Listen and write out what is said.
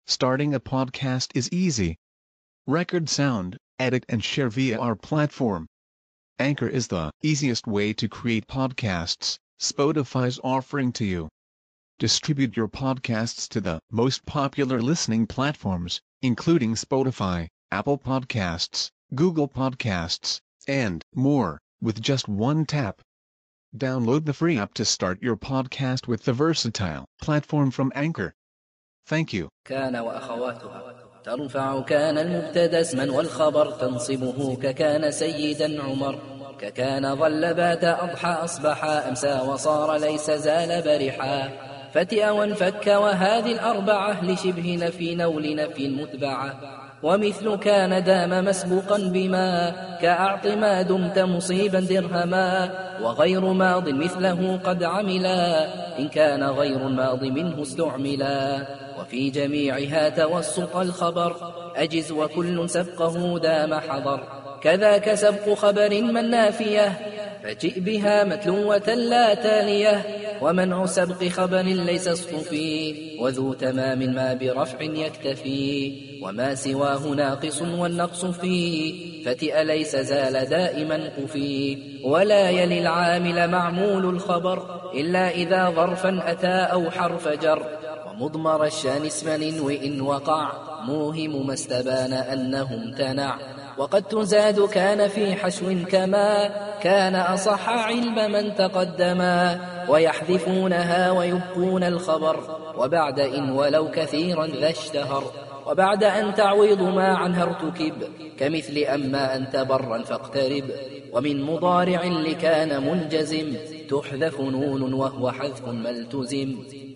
Starting a podcast is easy. Record sound, edit and share via our platform. Anchor is the easiest way to create podcasts Spotify's offering to you. Distribute your podcasts to the most popular listening platforms, including Spotify, Apple Podcasts, Google Podcasts, and more, with just one tap. Download the free app to start your podcast with the versatile platform from Anchor. Thank you. كان وأخواتها ترفع كان المبتدى اسما والخبر تنصبه ككان سيدا عمر ككان ظل بات أضحى أصبح أمسى وصار ليس زال برحا فتئ وانفك وهذه الأربعة لشبه نفي نول نفي متبعة ومثل كان دام مسبوقا بما كأعط ما دمت مصيبا درهما وغير ماض مثله قد عملا إن كان غير الماض منه استعملا وفي جميعها توسط الخبر أجز وكل سبقه دام حضر كذاك سبق خبر من نافية فجئ بها متلوة لا تالية ومنع سبق خبر ليس اصطفي وذو تمام ما برفع يكتفي وما سواه ناقص والنقص فيه فتئ ليس زال دائما قفي ولا يلي العامل معمول الخبر إلا إذا ظرفا أتى أو حرف جر ومضمر الشان اسما وإن وقع موهم ما استبان أنه امتنع وقد تزاد كان في حشو كما كان أصح علم من تقدما ويحذفونها ويبقون الخبر وبعد إن ولو كثيرا ذا اشتهر وبعد أن تعويض ما عنها ارتكب كمثل أما أنت برا فاقترب ومن مضارع لكان منجزم تحذف نون وهو حذف ملتزم